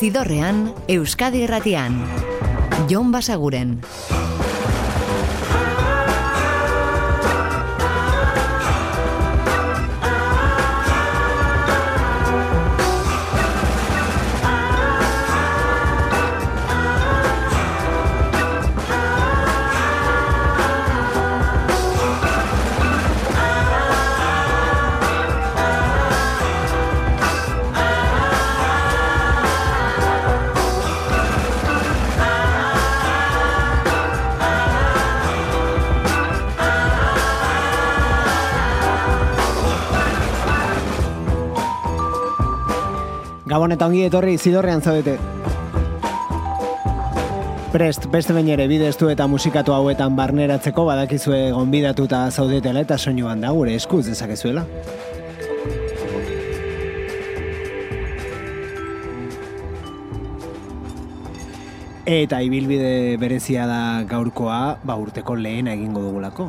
Zidorrean, Euskadi Irratian. Jon Basaguren. Gabon eta ongi etorri Zidorrean zaudete. Prest, beste behin ere bidestu eta musikatu hauetan barneratzeko badakizue gonbidatuta zaudetela eta soinuan da gure eskuz dezakezuela. Eta ibilbide berezia da gaurkoa, urteko lehena egingo dugulako.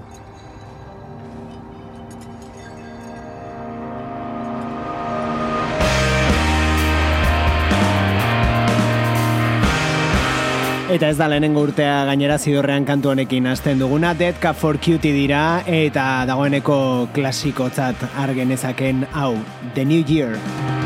Eta ez da lehenengo urtea gainera Zidorrean kantu honekin hasten duguna, Dead Cup for Cutie dira eta dagoeneko klasikotzat argenezaken hau, The New Year.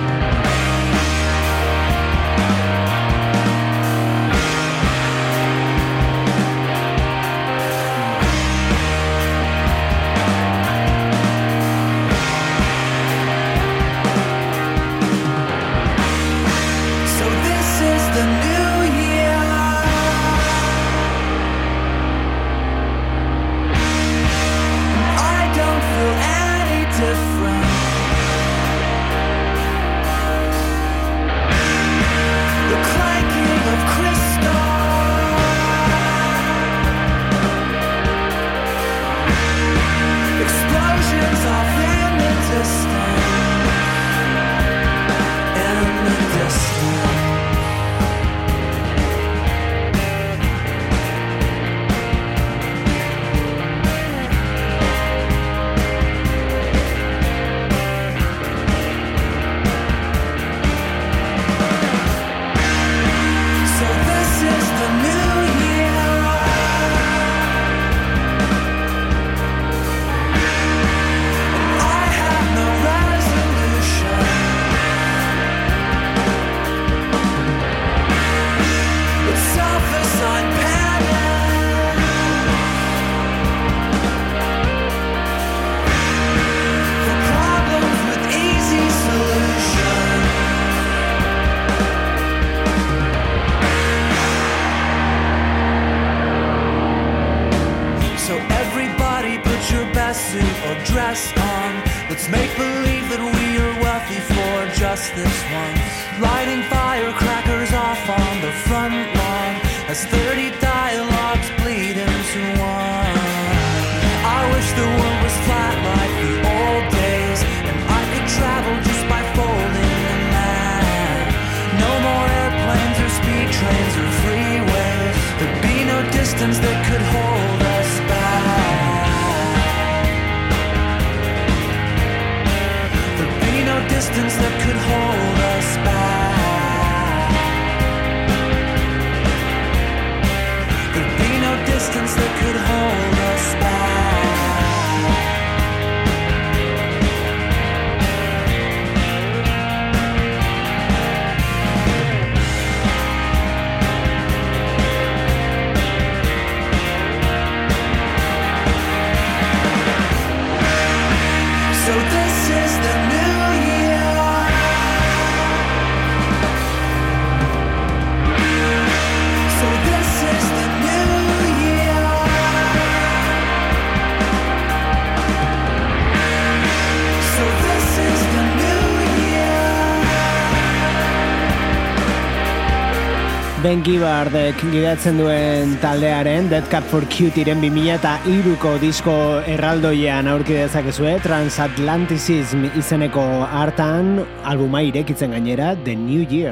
Ben Gibbardek gidatzen duen taldearen Dead Cup for Cutieren 2003ko disko erraldoian aurki dezakezue, Transatlanticism izeneko hartan albuma irekitzen gainera The New Year.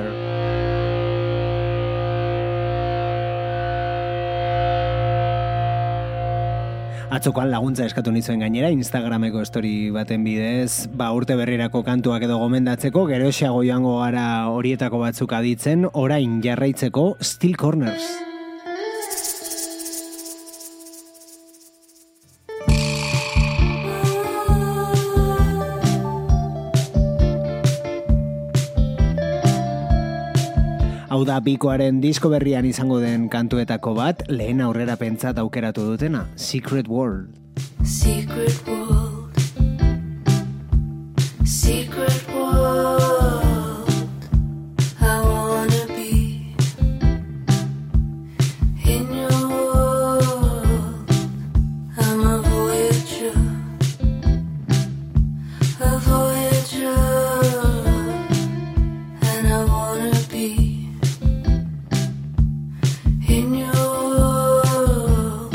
Atzokoan laguntza eskatu nizuen gainera, Instagrameko story baten bidez, urte berrirako kantuak edo gomendatzeko, geroxeago joango gara horietako batzuk aditzen, orain jarraitzeko Steel Corners. Hau da Bikoaren disko berrian izango den kantuetako bat, lehen aurrera pentsat aukeratu dutena, Secret World. Secret world, secret world, I wanna be in your world. I'm a voyager, and I wanna be in your world.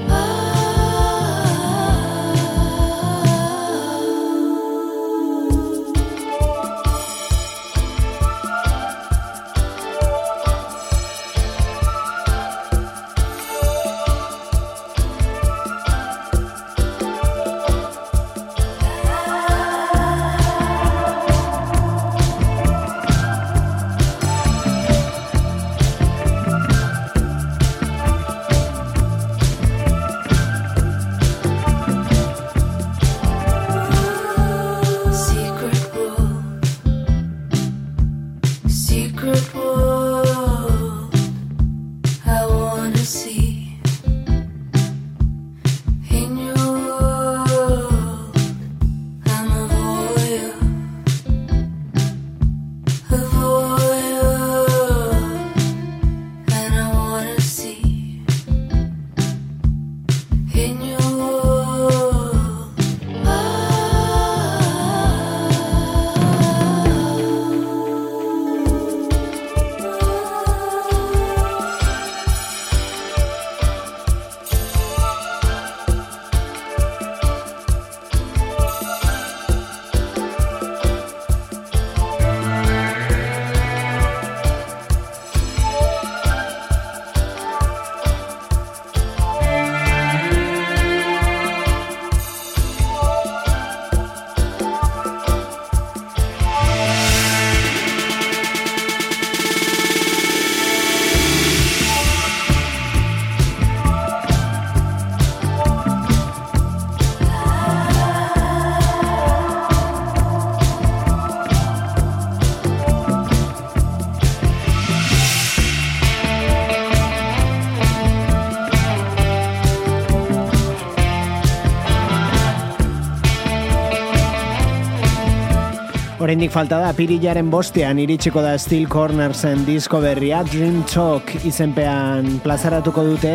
Oraindik falta da, apirilaren 5ean iritsiko da Steel Cornersen disko berria, Dream Talk izenpean plazaratuko dute,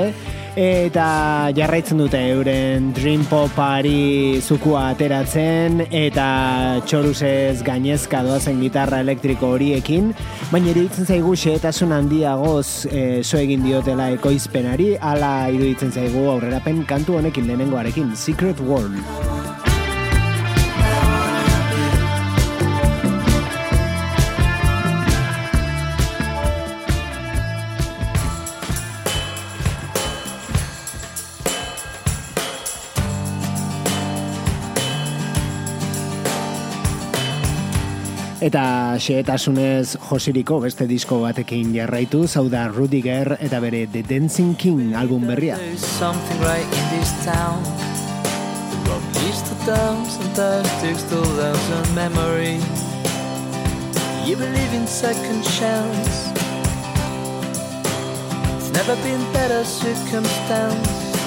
eta jarraitzen dute euren Dream Popari zukua ateratzen, eta txoruzez gainezka doazen gitarra elektriko horiekin, baina iruditzen zaigu xehetasun handiagoz so egin diotela ekoizpenari, hala iruditzen zaigu aurrerapen kantu honekin lehenengoarekin, Secret World. Eta xehetasunez josiriko beste disko batekin jarraitu, hau da Rudiger eta bere The Dancing King album berria. There's something right in this town. The road leads to dance and tactics to lives and memory. You believe in second chance. It's never been better circumstance.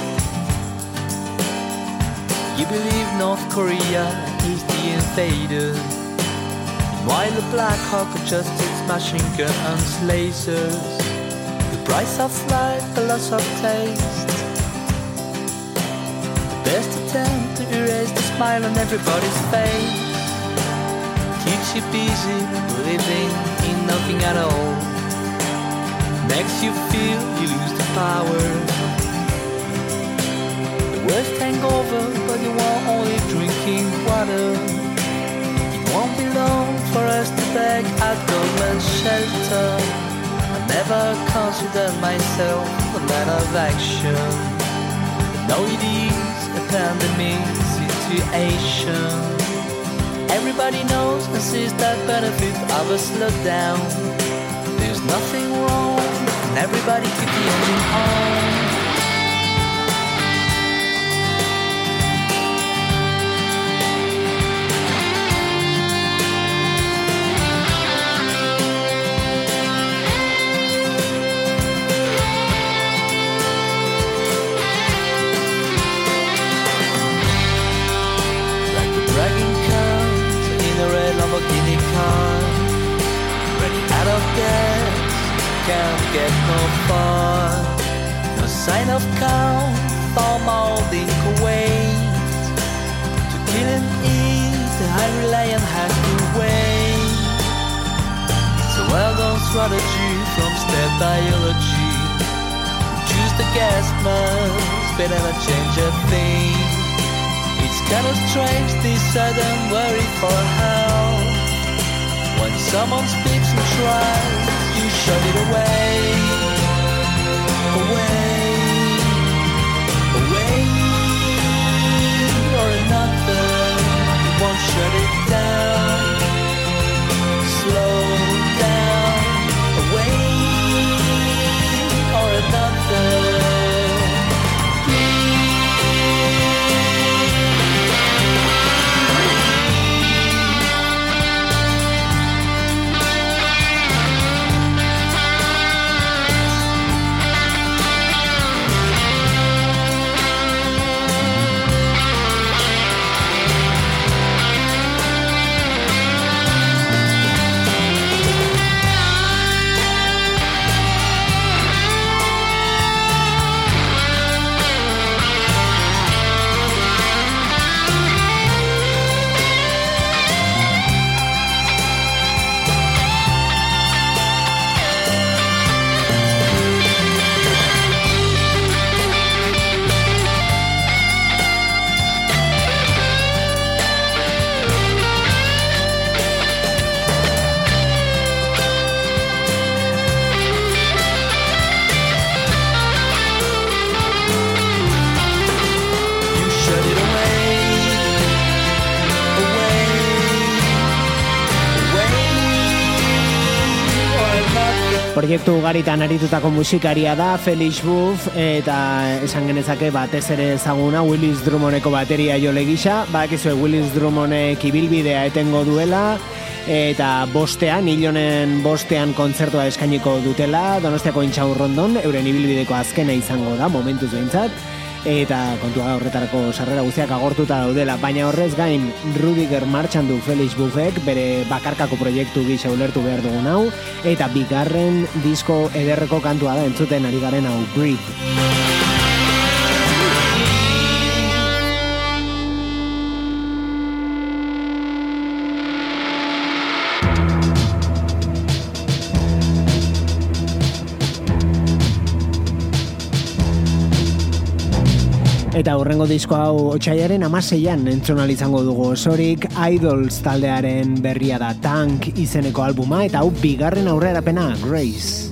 You believe North Korea is the invader, while the Black Hawk adjusts machine guns, lasers. The price of life, the loss of taste. The best attempt to erase the smile on everybody's face. Keeps you busy, living in nothing at all. Makes you feel you lose the power. The worst hangover, but you are only drinking water. Won't be long for us to beg at government shelter. I never considered myself a man of action. know it is a pandemic situation. Everybody knows and sees that benefit of a slowdown. There's nothing wrong, and everybody keep the engine on. Lamborghini car, running out of gas, can't get no far. No sign of calm, form holding Kuwait. To kill and eat, the hungry lion has to wait. It's a well-known strategy from step biology. Choose the gas mask, better not change a thing. It's kind of strange, this sudden worry for help. When someone speaks and tries, you shut it away. Away, away, or another. You won't shut it down. Slow down. Away, or another. Proiektu ugaritan aritutako musikaria da Felix Buff, eta esan genezake batez ere ezaguna Willis Drummondeko bateria jole gisa. Badakizue Willis Drummondek ibilbidea etengo duela, eta hilonen bostean kontzertua eskainiko dutela Donostiako Intxaurrondon, euren ibilbideko azkena izango da momentuz behintzat, eta kontua horretarako sarrera guztiak agortuta daudela, baina horrez gain Rudiger martxan du Felix Buffek bere bakarkako proiektu gisa ulertu behar dugun hau, eta bigarren disko ederreko kantua da entzuten ari garen hau, Breathe. Eta hurrengo disko hau otsailaren 16an entzun izango dugu osorik. Idols taldearen berria da, Tank izeneko albuma, eta hau bigarren aurrerapena, Grace.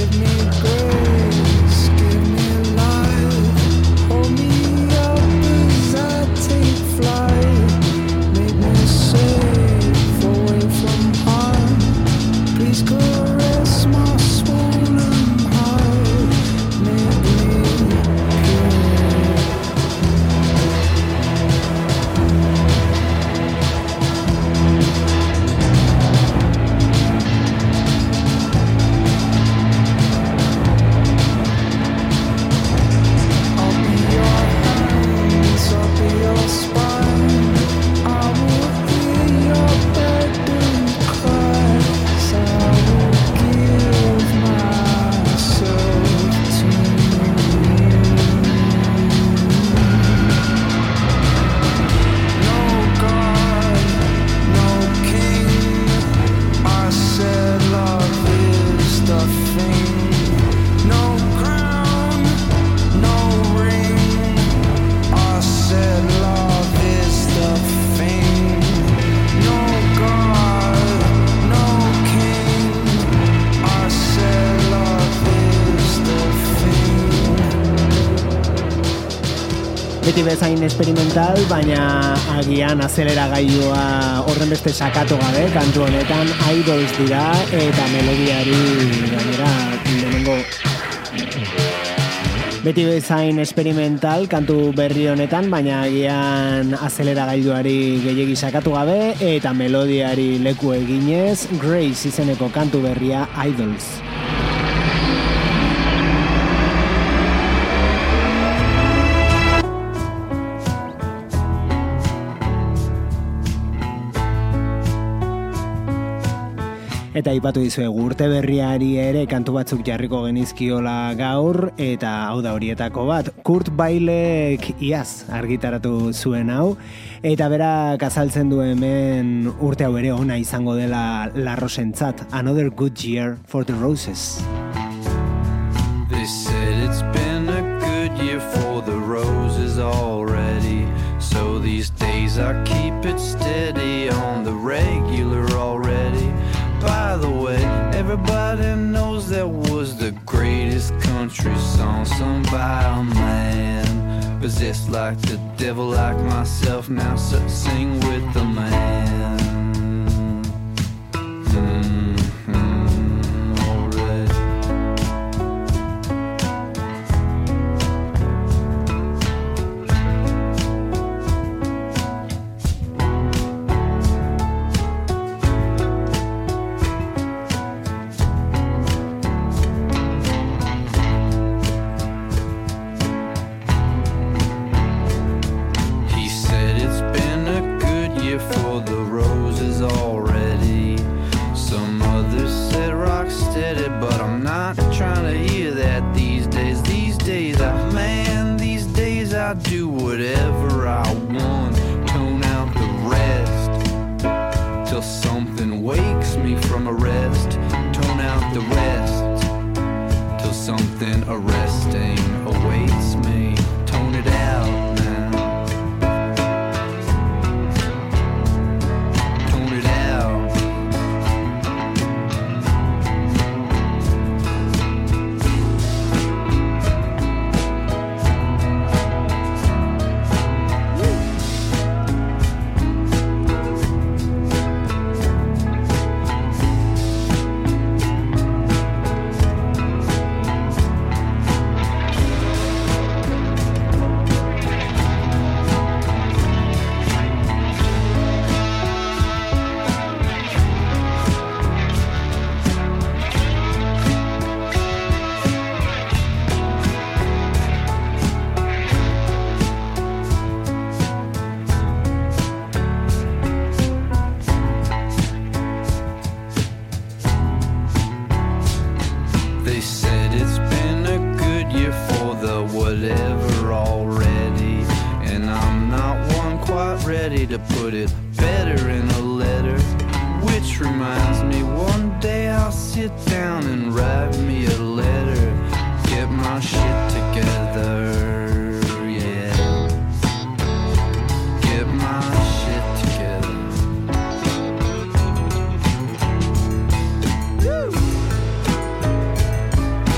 Beti bezain experimental, baina agian azeleragailua horren beste sakatu gabe, kantu honetan Idols dira eta melodiari gainera lehenengo beti bezain experimental kantu berri honetan, baina agian azeleragailuari gehiegi sakatu gabe eta melodiari leku eginez Grace izeneko kantu berria Idols. Eta ipatu dizuegu urte berriari ere kantu batzuk jarriko genizkiola gaur, eta hau da horietako bat. Kurt Bailek iaz argitaratu zuen hau, eta berak azaltzen du hemen urte hau ere ona izango dela La Rosentzat. Another good year for the Roses. They said it's been a good year for the roses already. So these days I keep it steady on the regular already. By the way, everybody knows that was the greatest country song sung by a man. Possessed like the devil, like myself, now sing with the man. I do whatever I want, tone out the rest, till something wakes me from a rest, tone out the rest, till something arresting awaits me, tone it out now, tone it out. To put it better in a letter, which reminds me one day I'll sit down and write me a letter, get my shit together, yeah, get my shit together. Woo!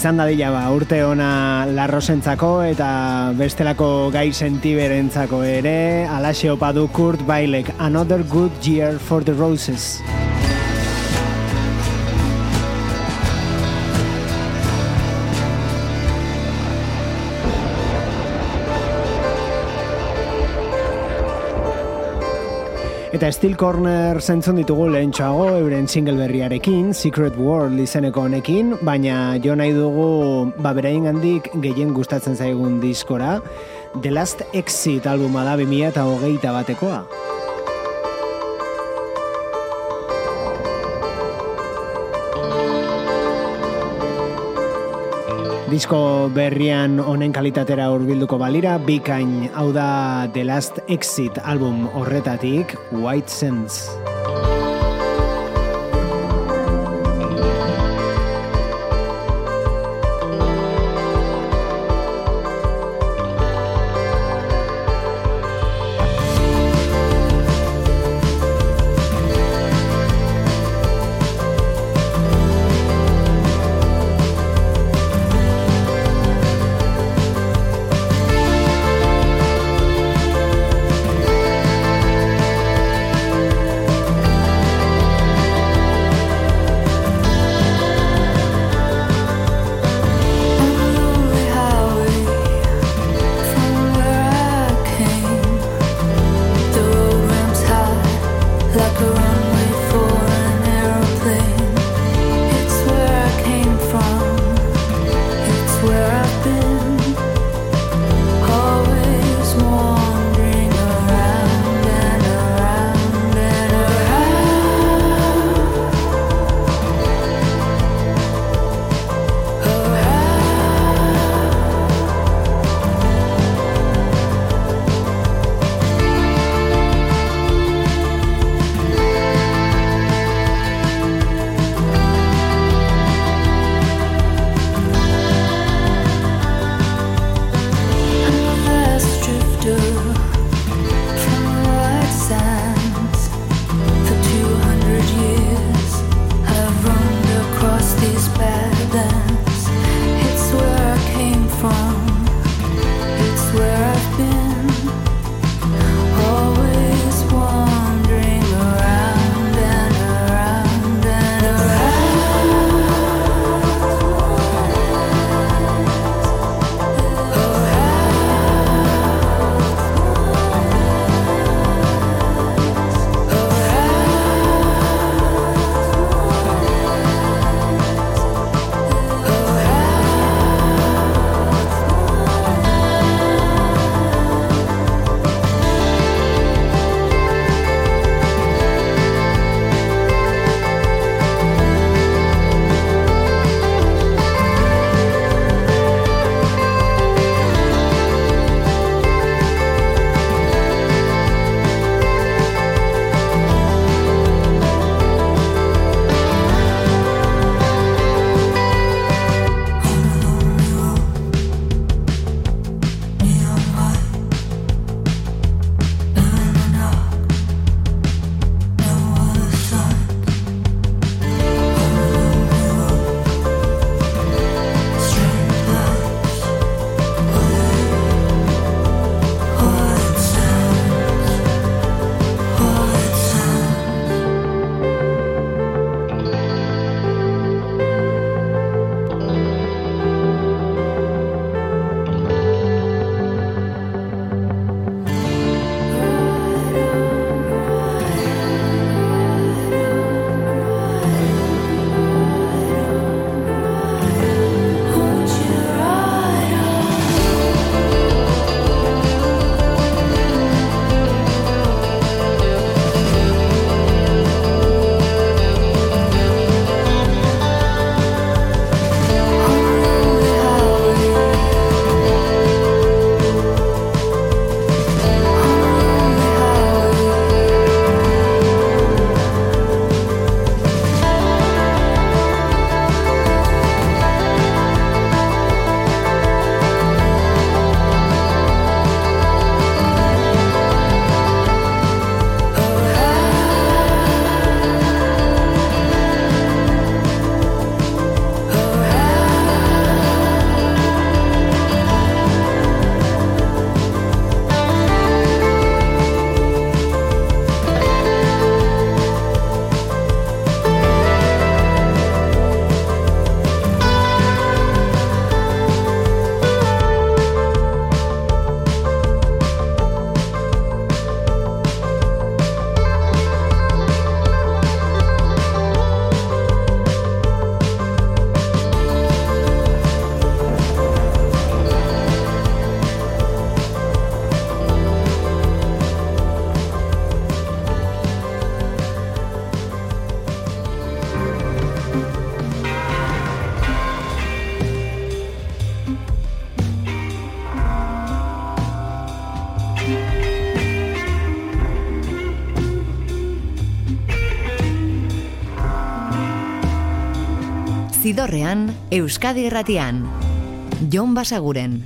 Izan dadila urte ona larrosentzako eta bestelako gai sentiberentzako ere, alaxe opa du Kurt Weill, Another Good Year for the Roses. Eta Steel Corner zentzun ditugu lehentxoago euren single berriarekin, Secret World izeneko honekin, baina jo nahi dugu beraien handik gehien gustatzen zaigun diskora, The Last Exit albuma da 2021 batekoa. Disko berrian honen kalitatera hurbilduko balira, bikain hau da The Last Exit album horretatik, White Sands. Zidorrean, Euskadi Irratian. Jon Basaguren.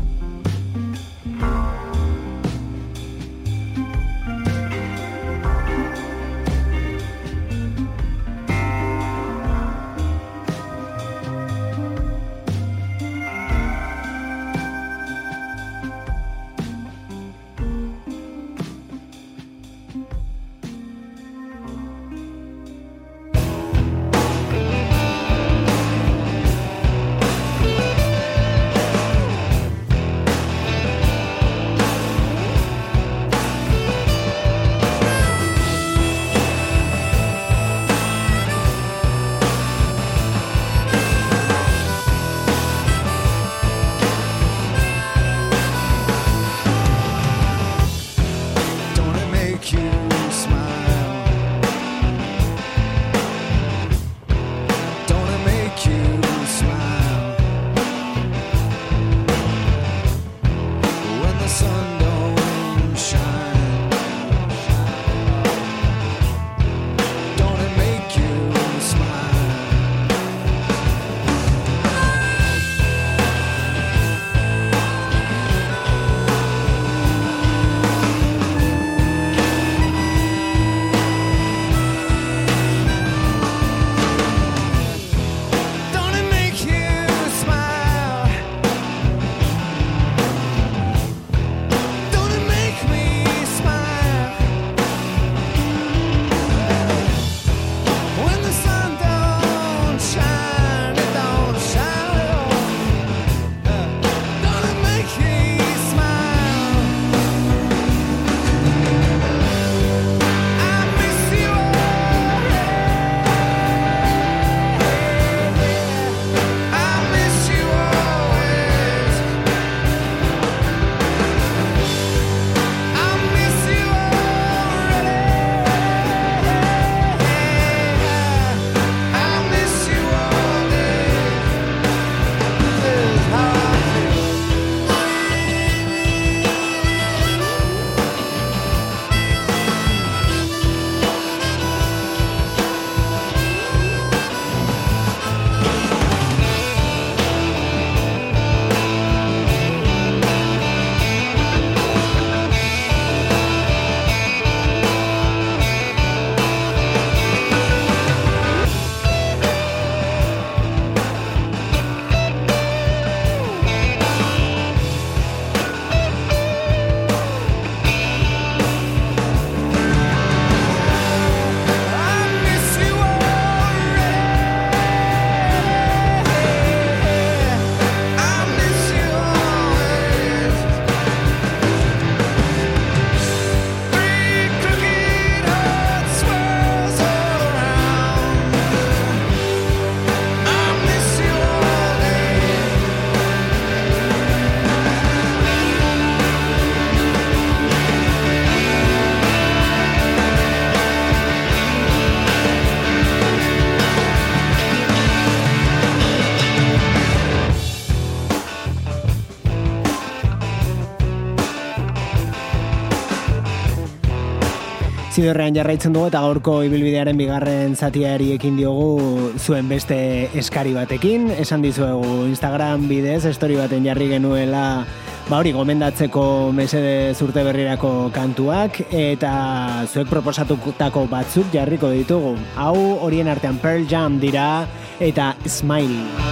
Zidorrean jarraitzen dugu eta gaurko ibilbidearen bigarren zatiari ekin diogu zuen beste eskari batekin. Esan dizuegu Instagram bidez, story baten jarri genuela hori gomendatzeko mesede urte berrirako kantuak, eta zuek proposatutako batzuk jarriko ditugu. Hau horien artean Pearl Jam dira eta Smile.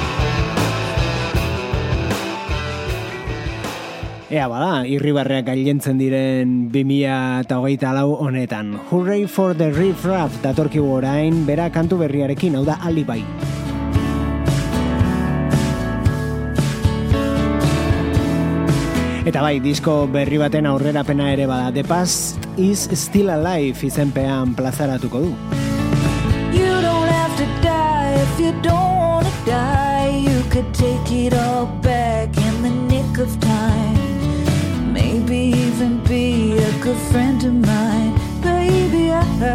Ea bada, irribarreak gailentzen diren 2024 honetan. Hooray for the Riff Raff datorkigu orain, bera kantu berriarekin, hau da Alibi. Eta bai, disko berri baten aurrerapena ere bada. The Past is Still Alive izenpean plazaratuko du. You don't have to die if you don't want to die. You could take it all back in the nick of time. Maybe even be a good friend of mine. Baby,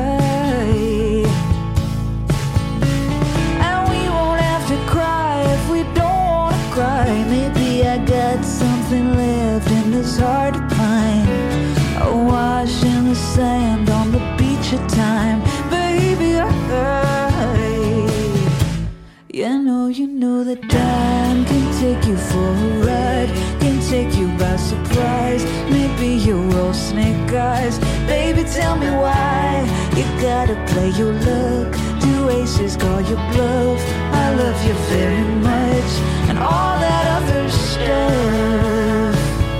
and we won't have to cry if we don't want to cry. Maybe I got something left in this heart of pine. A wash in the sand on the beach of time. Baby, you know that time can take you for a ride, can take you by surprise. Maybe you're all snake eyes. Baby, tell me why you gotta play your luck. Do aces call your bluff? I love you very much, and all that other stuff.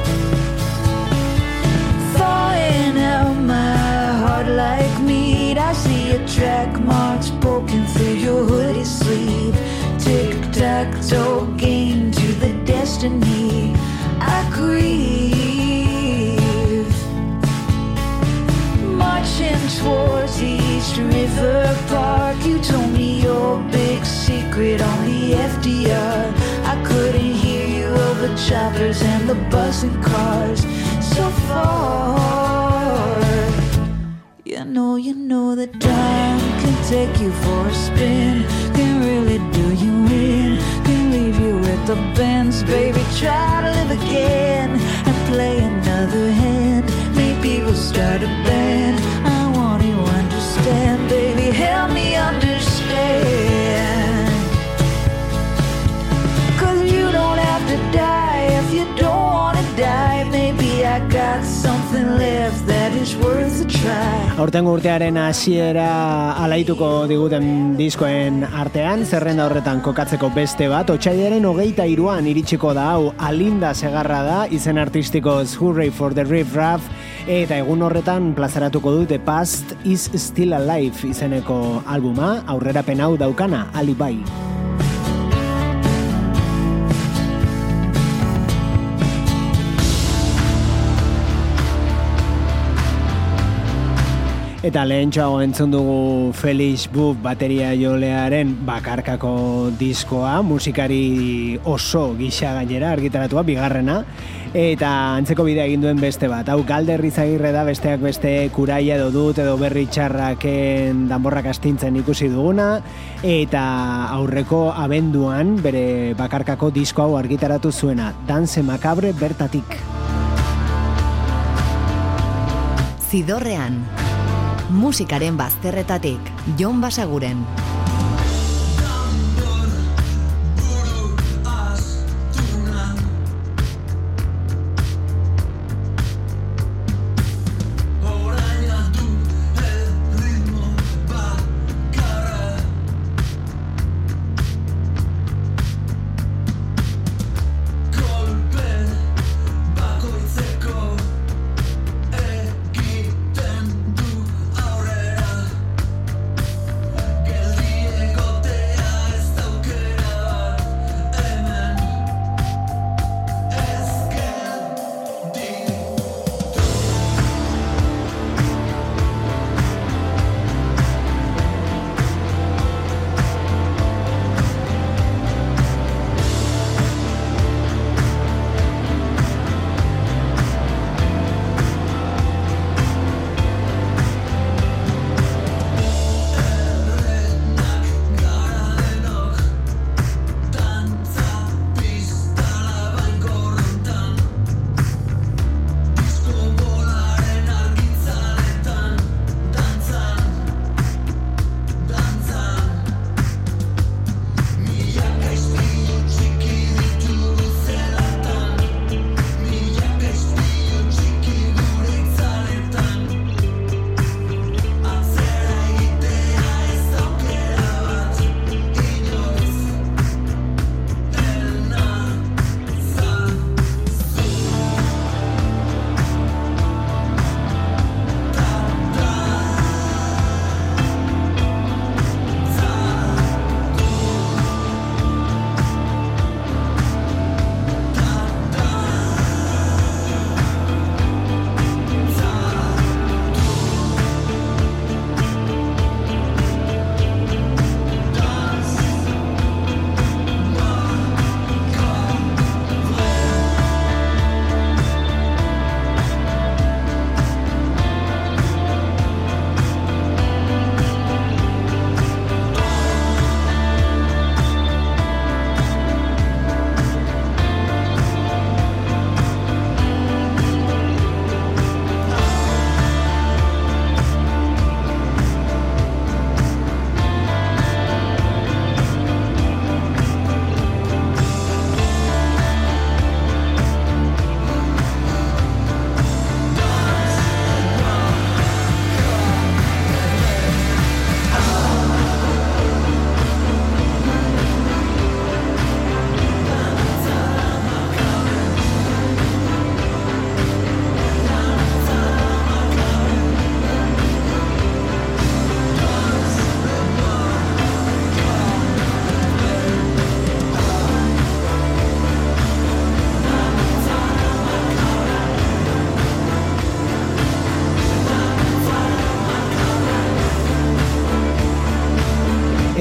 Thawing out my heart like meat. I see your track marks poking through your hoodie sleeve. Tic-tac-toe game to the destiny I grieve. Marching towards East River Park, you told me your big secret on the FDR. I couldn't hear you over choppers and the buzzing cars so far. You know that time can take you for a spin, can really do you in, can leave you with the bends. Baby, try to live again and play another hand. Maybe we'll start a band. I want you to understand, baby, help me understand. 'Cause you don't have to die if you don't wanna die. Maybe I got something left that is worth a try. Aurtengo urtearen hasiera alaituko diguten diskoen artean, zerrenda horretan kokatzeko beste bat, otsailaren 23an iritsiko da hau, Alinda Segarra da, izen artistikoz Hooray for the Riff Raff, eta egun horretan plazaratuko du The Past is Still Alive izeneko albuma, aurrerapen hau daukana, Alibi. Eta lehentxoago entzun dugu Felix Buff bateria jolearen bakarkako diskoa, musikari oso gisa gainera argitaratua, bigarrena, eta antzeko bidea egin duen beste bat. Hau Galder Izagirre da, besteak beste Kuraia edo Dut edo Berri Txarraken danborrak astintzen ikusi duguna, eta aurreko abenduan bere bakarkako disko hau argitaratu zuena, Dance Macabre bertatik. Zidorrean, musikaren bazterretatik, Jon Basaguren. Geldi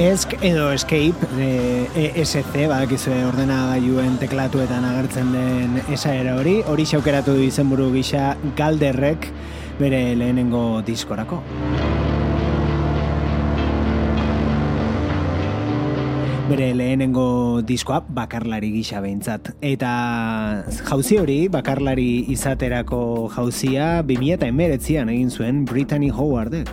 Esk edo Escape, ESC, badakizue ordenagailuen teklatuetan agertzen den esaera hori aukeratu du izenburu gisa Galderrek bere lehenengo diskorako. Bere lehenengo diskoa bakarlari gisa behintzat. Eta jauzi hori, bakarlari izaterako jauzia 2019an egin zuen Brittany Howardek.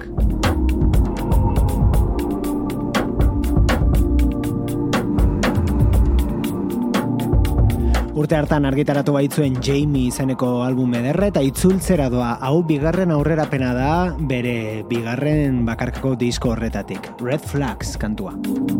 Urte hartan argitaratu baitzuen Jamie izeneko album ederra eta itzultzera doa. Hau bigarren aurrerapena da bere bigarren bakarkako disko horretatik. Red Flags kantua.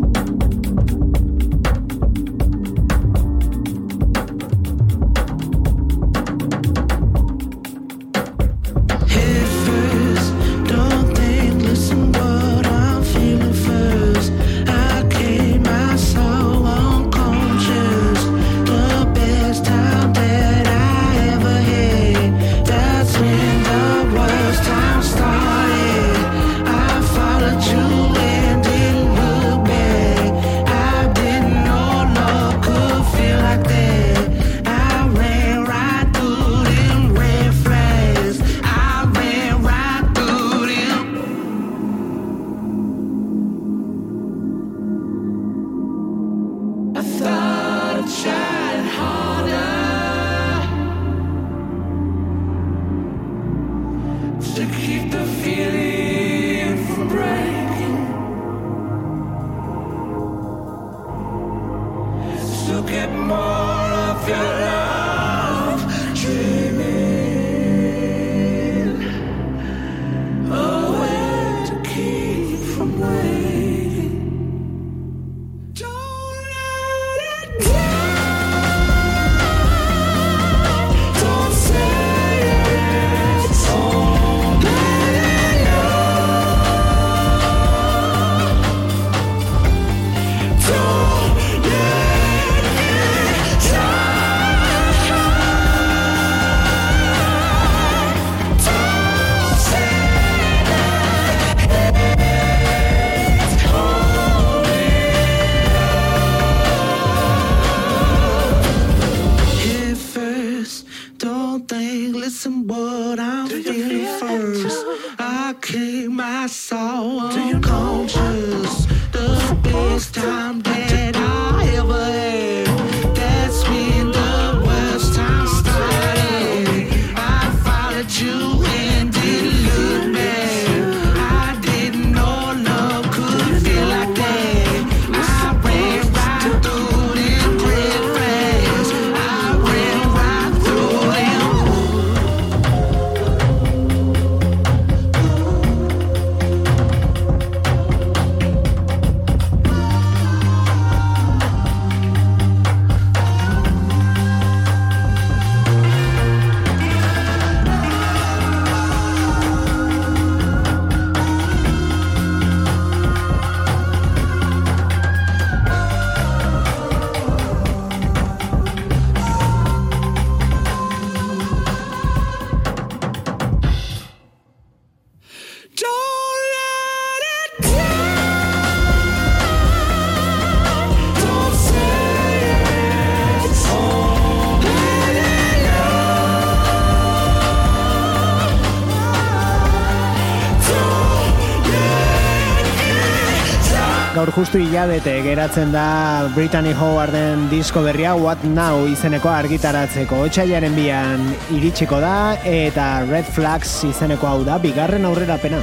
Gaur justu hilabete geratzen da Brittany Howarden disko berria What Now izeneko argitaratzeko. Otsailaren 2an iritsiko da eta Red Flags izeneko hau da bigarren aurrerapena.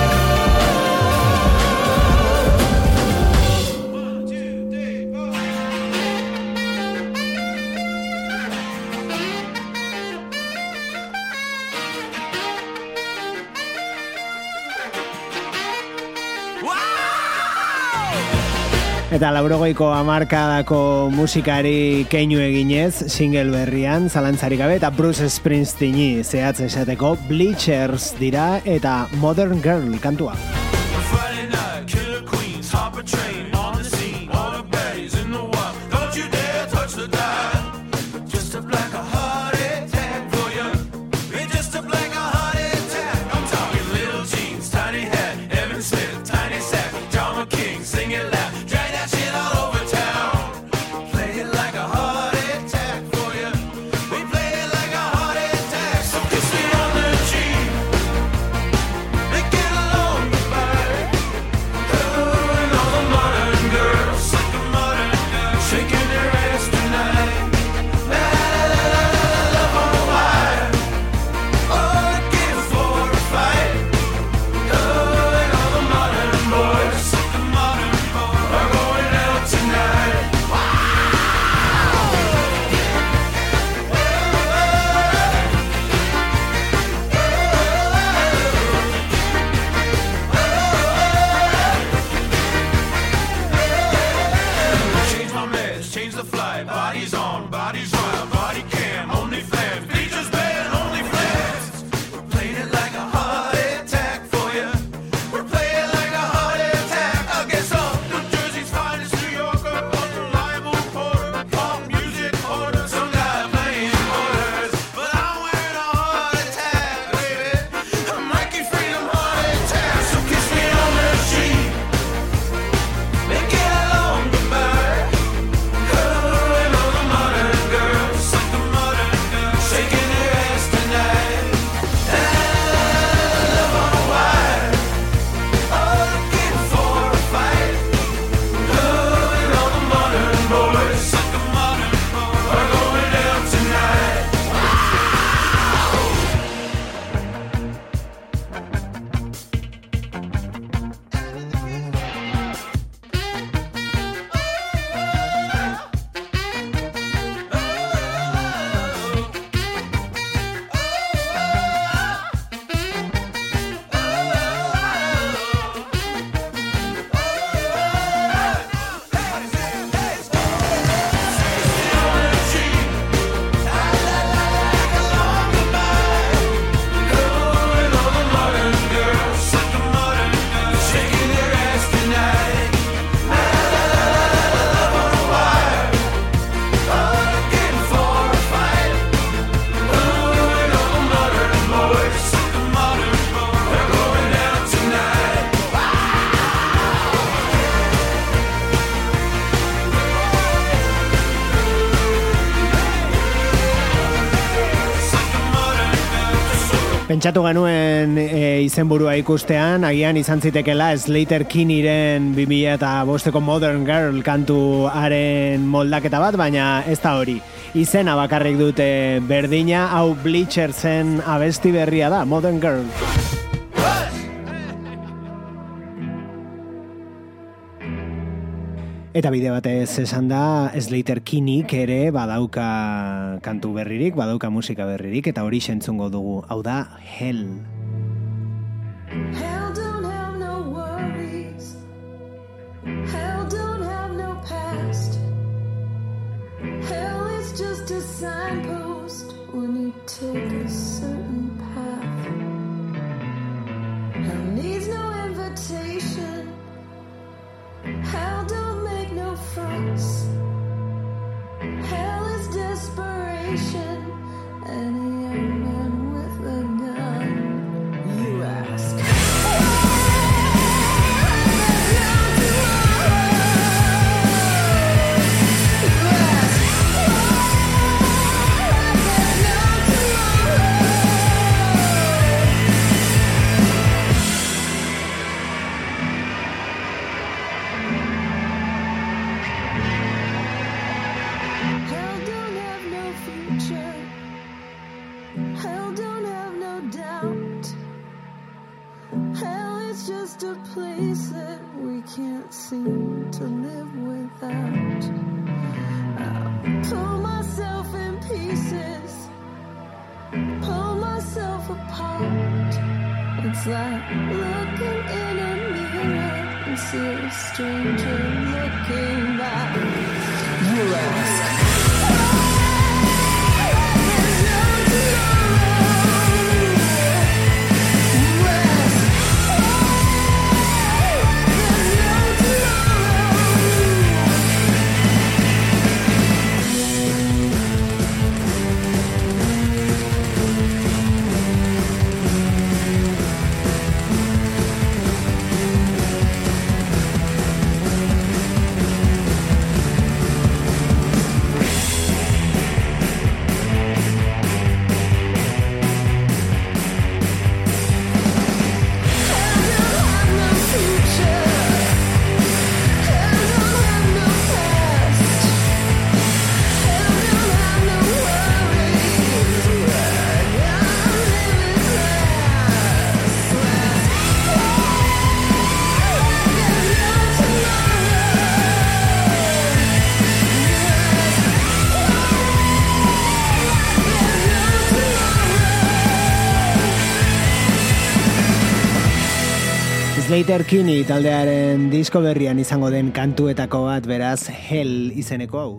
Eta 80ko hamarkadako musikari keinu eginez, single berrian, zalantzarik gabe, eta Bruce Springsteeni zehatz esateko Bleachers dira eta Modern Girl kantua. Sing it loud. Pentsatu genuen izenburua ikustean, agian izan zitekela Slater Kinneyren 2005ko Modern Girl kantuaren moldaketa bat, baina ez da hori. Izena bakarrik dute berdina, hau Bleachersen abesti berria da, Modern Girl. Eta bide batez esan da, Slater Kinneyk ere badauka kantu berririk, badauka musika berririk, eta hori sentzungo dugu, hau da Hell. Hell don't have no worries. Hell don't have no past. Hell is just a signpost when you take a certain path. Hell needs no invitation. Hell don't make no fuss. Hell is desperation and a young man with a gun. You ask. Hell don't have no doubt. Hell is just a place that we can't seem to live without. I'll pull myself in pieces, pull myself apart. It's like looking in a mirror and see a stranger looking back. You ask. Slater Kinney taldearen disko berrian izango den kantuetako bat, beraz Hell izeneko hau.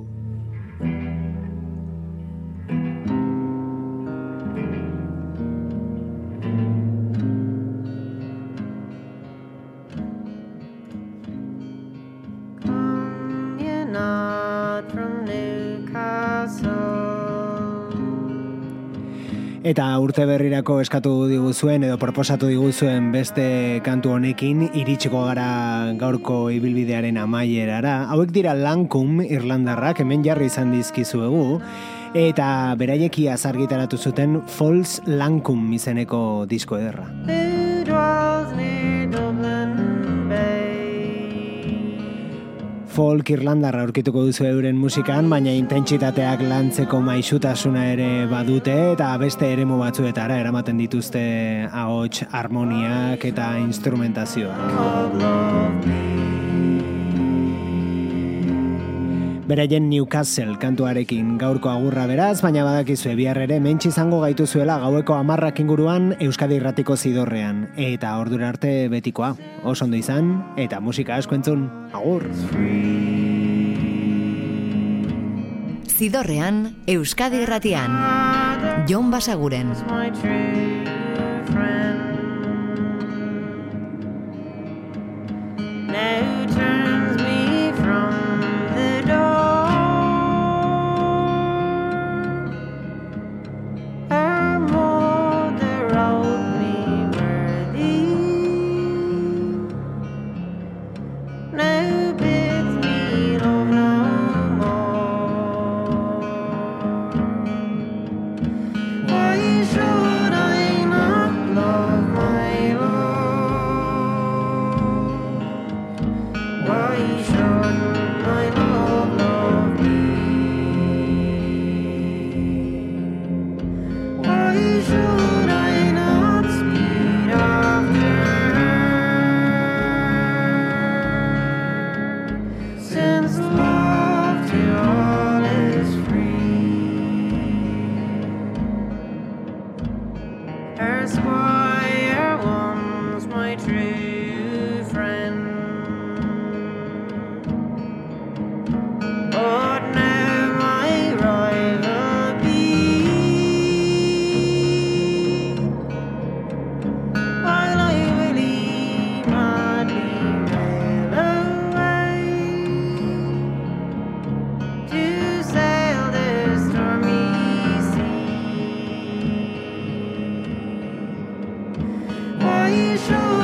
Eta urte berrirako eskatu diguzuen edo proposatu diguzuen beste kantu honekin iritsiko gara gaurko ibilbidearen amaierara. Hauek dira Lancome Irlandarrak, hemen jarri izan dizkizuegu, eta beraieki argitaratu zuten False Lancome izeneko disko ederra. Folk Irlandarra aurkituko duzu euren musikan, baina intentsitateak lantzeko maisutasuna ere badute eta beste eremu batzuetara eramaten dituzte ahots, harmoniak eta instrumentazioak. Beraien Newcastle kantuarekin gaurko agurra beraz, baina badakizue bihar ere mentsi izango gaituzuela gaueko 10 inguruan Euskadi Irratiko Zidorrean. Eta ordura arte betikoa, oso ondo izan, eta musika asko entzun, agur! Zidorrean, Euskadi Irratian, Jon Basaguren. Why should I not Her squire was my true friend, but now my rival be, while I really madly rail away to sail the stormy sea. Why should